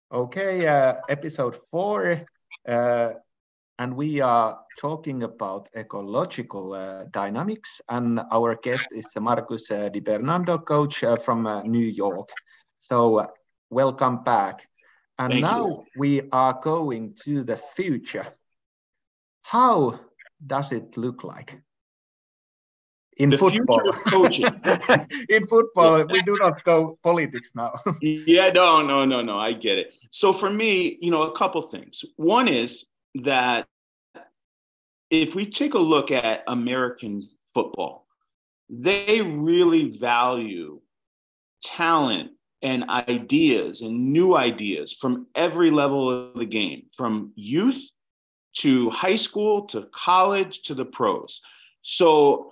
Okay, episode 4, and we are talking about ecological dynamics. And our guest is Marcus Di Bernardo, coach from New York. So, welcome back. And Thank now you. we are going to the future. How does it look like? In The future football. of coaching. In football, we do not go politics now. Yeah, no. I get it. So for me, a couple things. One is that if we take a look at American football, they really value talent and ideas and new ideas from every level of the game, from youth to high school to college to the pros. So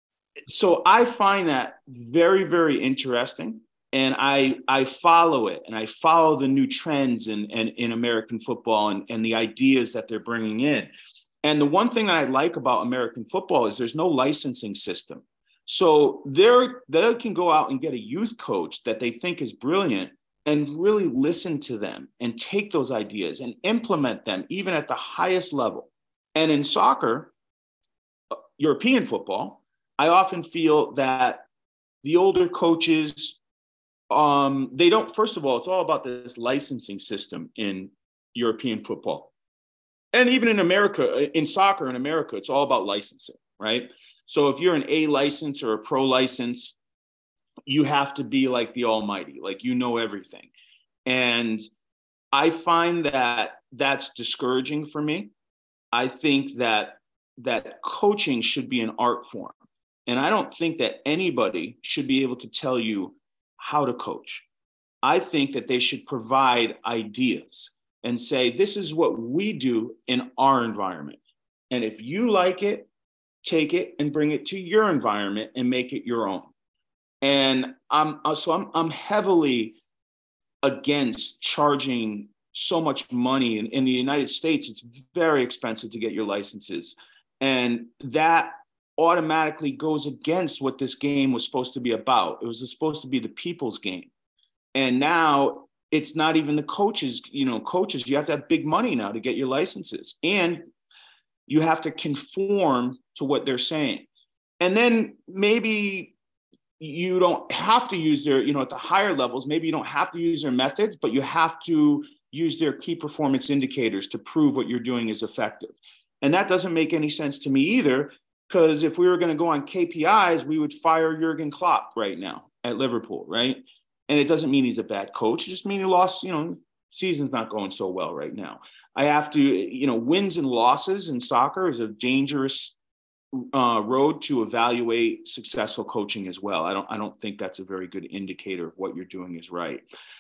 I find that very, very interesting. And I follow it, and I follow the new trends in American football and the ideas that they're bringing in. And the one thing that I like about American football is there's no licensing system. So they can go out and get a youth coach that they think is brilliant and really listen to them and take those ideas and implement them even at the highest level. And in soccer, European football, I often feel that the older coaches, they don't, first of all, it's all about this licensing system in European football. And even in America, in soccer in America, it's all about licensing, right? So if you're an A license or a pro license, you have to be like the almighty, like you know everything. And I find that that's discouraging for me. I think that coaching should be an art form. And I don't think that anybody should be able to tell you how to coach. I think that they should provide ideas and say, this is what we do in our environment. And if you like it, take it and bring it to your environment and make it your own. And I'm heavily against charging so much money. In the United States, it's very expensive to get your licenses. And that automatically goes against what this game was supposed to be about. It was supposed to be the people's game. And now it's not even the coaches, coaches, you have to have big money now to get your licenses. And you have to conform to what they're saying. And then maybe you don't have to use their, at the higher levels, maybe you don't have to use their methods, but you have to use their key performance indicators to prove what you're doing is effective. And that doesn't make any sense to me either, because if we were going to go on KPIs, we would fire Jurgen Klopp right now at Liverpool, right? And it doesn't mean he's a bad coach. It just means he lost, season's not going so well right now. I have to, wins and losses in soccer is a dangerous road to evaluate successful coaching as well. I don't think that's a very good indicator of what you're doing is right.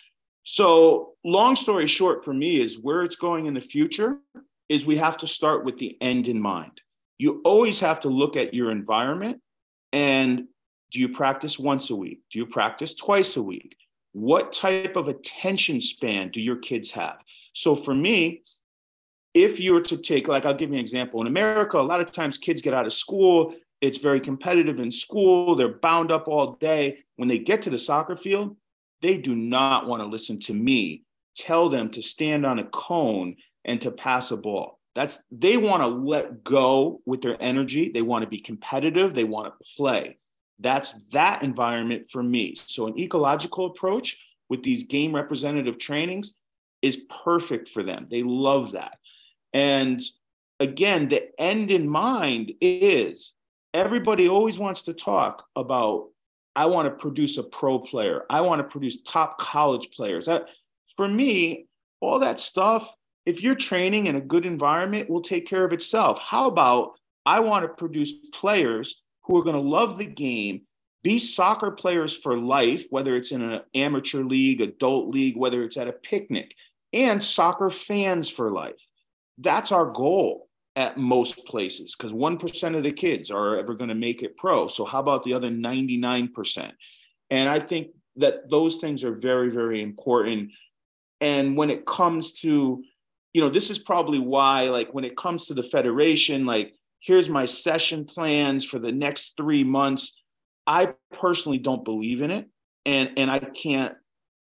So long story short for me is where it's going in the future is we have to start with the end in mind. You always have to look at your environment and do you practice once a week? Do you practice twice a week? What type of attention span do your kids have? So for me, if you were to take, like, I'll give you an example. In America, a lot of times kids get out of school. It's very competitive in school. They're bound up all day. When they get to the soccer field, they do not want to listen to me tell them to stand on a cone and to pass a ball. They want to let go with their energy. They want to be competitive. They want to play. That's that environment for me. So an ecological approach with these game representative trainings is perfect for them. They love that. And again, the end in mind is everybody always wants to talk about, I want to produce a pro player. I want to produce top college players. For me, all that stuff, if you're training in a good environment, will take care of itself. How about I want to produce players who are going to love the game, be soccer players for life, whether it's in an amateur league, adult league, whether it's at a picnic, and soccer fans for life. That's our goal at most places, because 1% of the kids are ever going to make it pro. So how about the other 99%? And I think that those things are very, very important. And when it comes to, this is probably why, like, when it comes to the federation, like, here's my session plans for the next 3 months. I personally don't believe in it. And I can't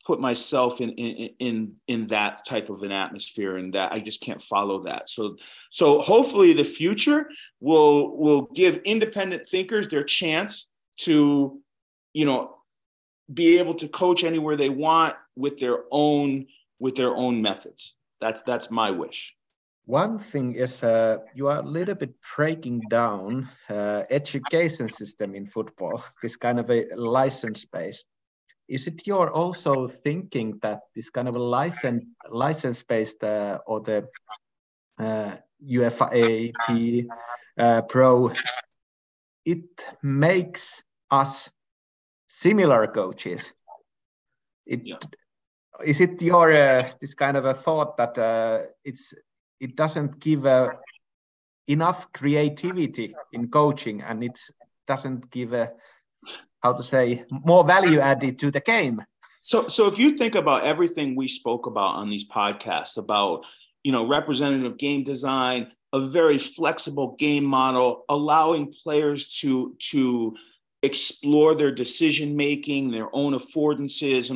put myself in that type of an atmosphere, and that I just can't follow that. So hopefully the future will give independent thinkers their chance to, be able to coach anywhere they want with their own methods. That's my wish. One thing is you are a little bit breaking down education system in football, this kind of a license base. Is it your also thinking that this kind of a license-based or the UFAP Pro, it makes us similar coaches? Is it your this kind of a thought that it doesn't give enough creativity in coaching, and it doesn't give how to say, more value added to the game? So if you think about everything we spoke about on these podcasts about, representative game design, a very flexible game model, allowing players to explore their decision making, their own affordances, and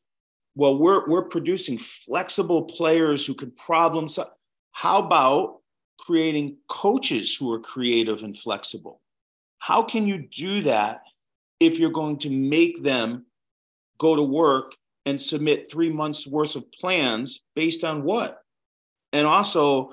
we're producing flexible players who could problem solve. How about creating coaches who are creative and flexible? How can you do that if you're going to make them go to work and submit 3 months worth of plans based on what? And also,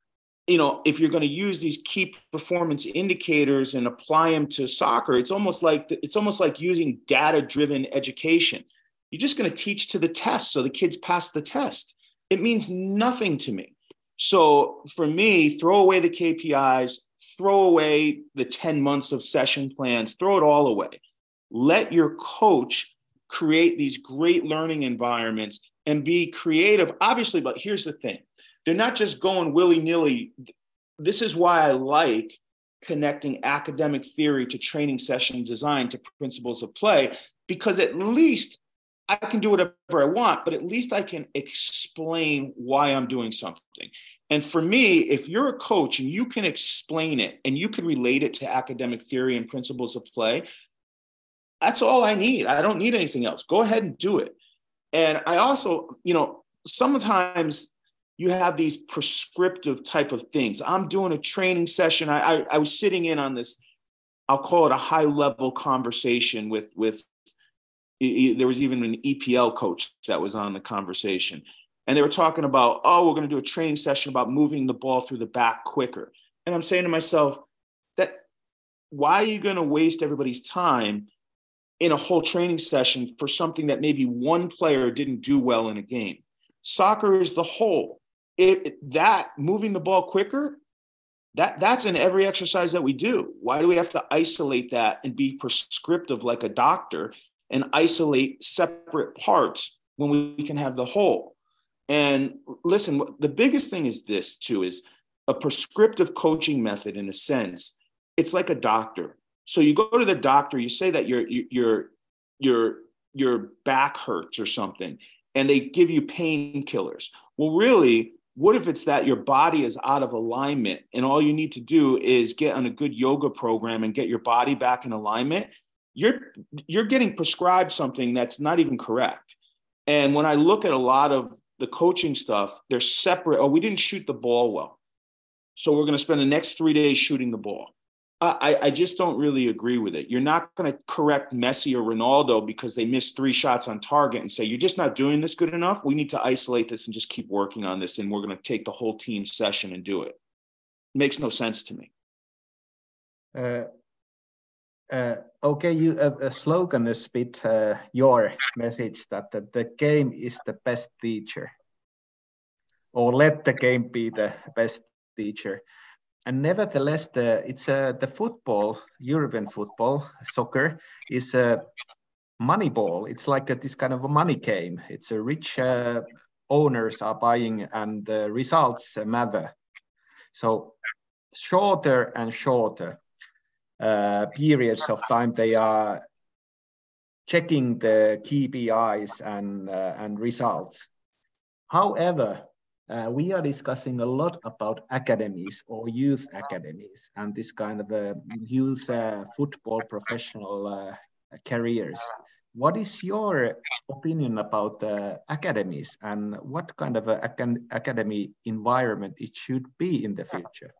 if you're going to use these key performance indicators and apply them to soccer, it's almost like using data-driven education. You're just going to teach to the test so the kids pass the test. It means nothing to me. So for me, throw away the KPIs, throw away the 10 months of session plans, throw it all away. Let your coach create these great learning environments and be creative, obviously, but here's the thing. They're not just going willy-nilly. This is why I like connecting academic theory to training session design to principles of play, because at least I can do whatever I want, but at least I can explain why I'm doing something. And for me, if you're a coach and you can explain it and you can relate it to academic theory and principles of play, that's all I need. I don't need anything else. Go ahead and do it. And I also, sometimes you have these prescriptive type of things. I'm doing a training session. I was sitting in on this, I'll call it a high level conversation with there was even an EPL coach that was on the conversation. And they were talking about, we're going to do a training session about moving the ball through the back quicker. And I'm saying to myself, why are you going to waste everybody's time in a whole training session for something that maybe one player didn't do well in a game? Soccer is the whole. That moving the ball quicker, that's in every exercise that we do. Why do we have to isolate that and be prescriptive like a doctor and isolate separate parts when we can have the whole? And listen, the biggest thing is this too, is a prescriptive coaching method. In a sense, it's like a doctor. So you go to the doctor, you say that your back hurts or something, and they give you painkillers. Well, really, what if it's that your body is out of alignment and all you need to do is get on a good yoga program and get your body back in alignment? You're getting prescribed something that's not even correct. And when I look at a lot of the coaching stuff, they're separate. We didn't shoot the ball well, so we're going to spend the next 3 days shooting the ball. I just don't really agree with it. You're not going to correct Messi or Ronaldo because they missed 3 shots on target and say, you're just not doing this good enough. We need to isolate this and just keep working on this. And we're going to take the whole team session and do it. It makes no sense to me. Okay, you a slogan is a bit your message that the game is the best teacher, or let the game be the best teacher. And nevertheless, the football, European football, soccer, is a money ball. It's like this kind of a money game. It's a rich owners are buying, and the results matter. So shorter and shorter periods of time, they are checking the KPIs and results. However, we are discussing a lot about academies or youth academies and this kind of youth football professional careers. what is your opinion about academies and what kind of academy environment it should be in the future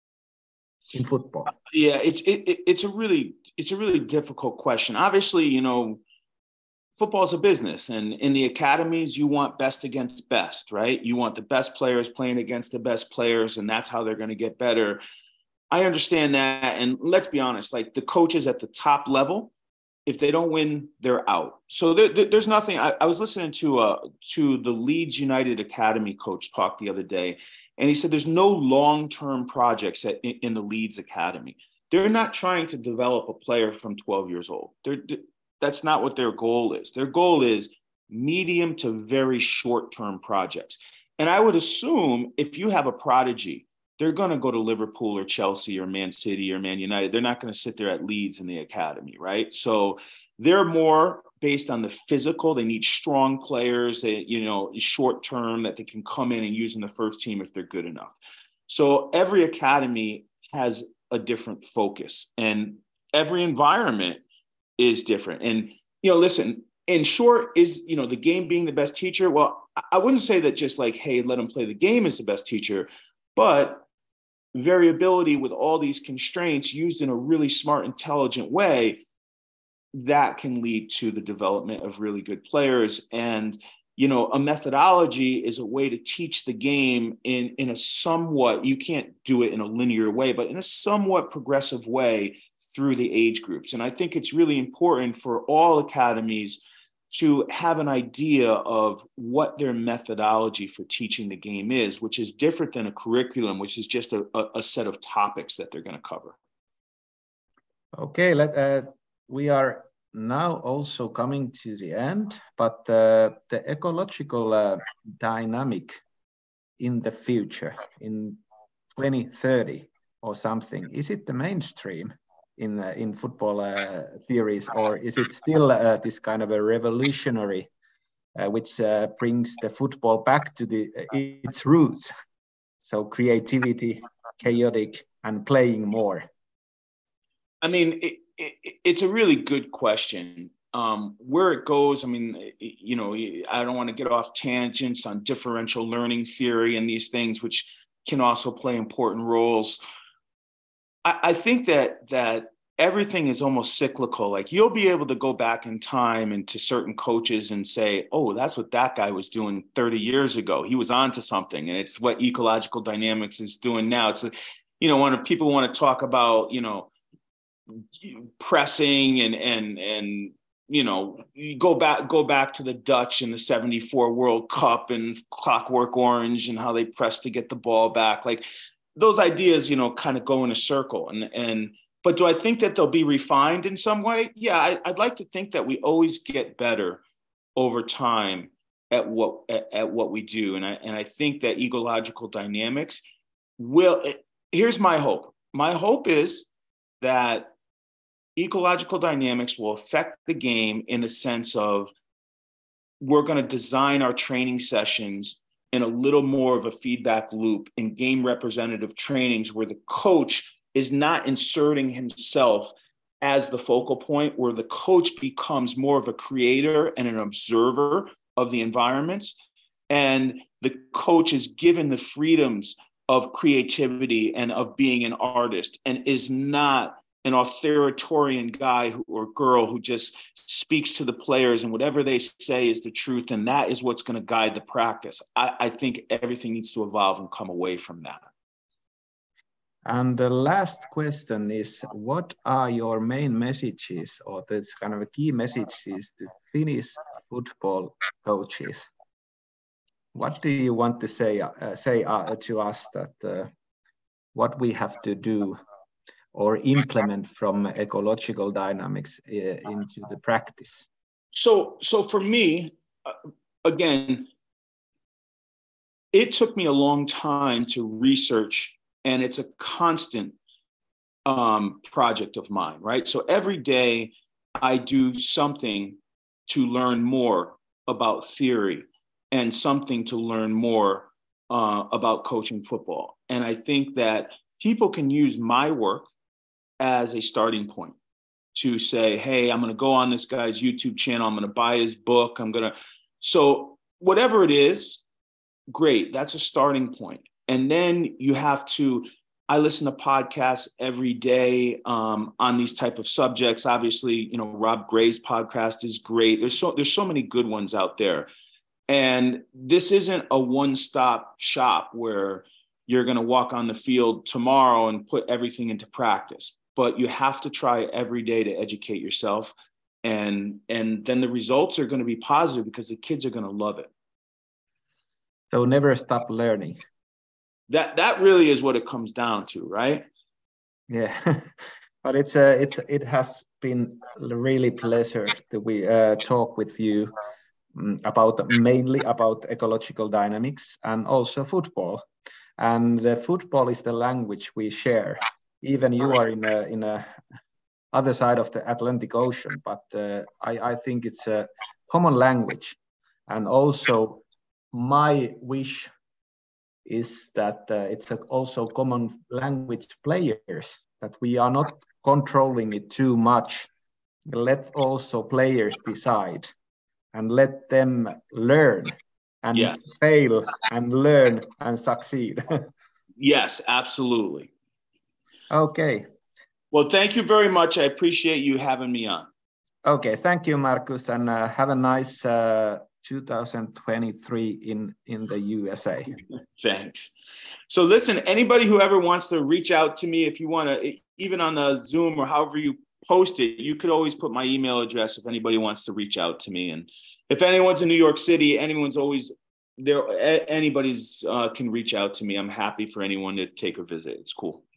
in football? Yeah, it's a really difficult question. Obviously, football is a business, and in the academies, you want best against best, right? You want the best players playing against the best players, and that's how they're going to get better. I understand that, and let's be honest, like the coaches at the top level, if they don't win, they're out. So there's nothing. I was listening to the Leeds United Academy coach talk the other day, and he said there's no long-term projects in the Leeds Academy. They're not trying to develop a player from 12 years old. That's not what their goal is. Their goal is medium to very short-term projects. And I would assume if you have a prodigy, they're going to go to Liverpool or Chelsea or Man City or Man United. They're not going to sit there at Leeds in the academy, right? So they're more based on the physical. They need strong players, short term that they can come in and use in the first team if they're good enough. So every academy has a different focus, and every environment is different. And, listen, in short, is, the game being the best teacher? Well, I wouldn't say that just like, hey, let them play the game is the best teacher, but variability with all these constraints used in a really smart, intelligent way, that can lead to the development of really good players. And, a methodology is a way to teach the game in a somewhat, you can't do it in a linear way, but in a somewhat progressive way through the age groups. And I think it's really important for all academies to have an idea of what their methodology for teaching the game is, which is different than a curriculum, which is just a set of topics that they're going to cover. Okay, we are now also coming to the end, but the ecological dynamic in the future, in 2030 or something, is it the mainstream in football theories, or is it still this kind of a revolutionary which brings the football back to its roots? So creativity, chaotic, and playing more. I mean, it's a really good question. Where it goes, I mean, I don't want to get off tangents on differential learning theory and these things, which can also play important roles. I think that everything is almost cyclical. Like you'll be able to go back in time and to certain coaches and say, oh, that's what that guy was doing 30 years ago. He was onto something. And it's what ecological dynamics is doing now. It's, when people want to talk about, pressing and you go back to the Dutch in the 74 World Cup and Clockwork Orange and how they press to get the ball back. Like, those ideas, kind of go in a circle. But do I think that they'll be refined in some way? Yeah, I'd like to think that we always get better over time at what we do. And I think that ecological dynamics here's my hope. My hope is that ecological dynamics will affect the game in the sense of we're going to design our training sessions in a little more of a feedback loop in game representative trainings where the coach is not inserting himself as the focal point, where the coach becomes more of a creator and an observer of the environments. And the coach is given the freedoms of creativity and of being an artist and is not an authoritarian guy or girl who just speaks to the players and whatever they say is the truth. And that is what's going to guide the practice. I think everything needs to evolve and come away from that. And the last question is, what are your main messages or the kind of key messages to Finnish football coaches? What do you want to say to us that what we have to do or implement from ecological dynamics into the practice? So for me, again, it took me a long time to research, and it's a constant project of mine, right? So every day I do something to learn more about theory and something to learn more about coaching football. And I think that people can use my work as a starting point. to say, hey, I'm going to go on this guy's YouTube channel. I'm going to buy his book. So whatever it is, great. That's a starting point. And then you have to, I listen to podcasts every day on these type of subjects. Obviously, Rob Gray's podcast is great. There's so many good ones out there. And this isn't a one-stop shop where you're going to walk on the field tomorrow and put everything into practice, but you have to try every day to educate yourself. And then the results are going to be positive because the kids are going to love it. So never stop learning. That really is what it comes down to, right? Yeah, but it has been really pleasure to we talk with you mainly about ecological dynamics and also football. And football is the language we share. Even you are in a other side of the Atlantic Ocean, but I think it's a common language. And also, my wish is that it's also common language players, that we are not controlling it too much. Let also players decide and let them learn and fail and learn and succeed. Yes, absolutely. Okay. Well, thank you very much. I appreciate you having me on. Okay, thank you, Markus, and have a nice 2023 in the USA. Thanks. So listen, anybody who ever wants to reach out to me, if you want to, even on the Zoom or however you post it, you could always put my email address if anybody wants to reach out to me. And if anyone's in New York City, anyone's always there, anybody's can reach out to me. I'm happy for anyone to take a visit. It's cool.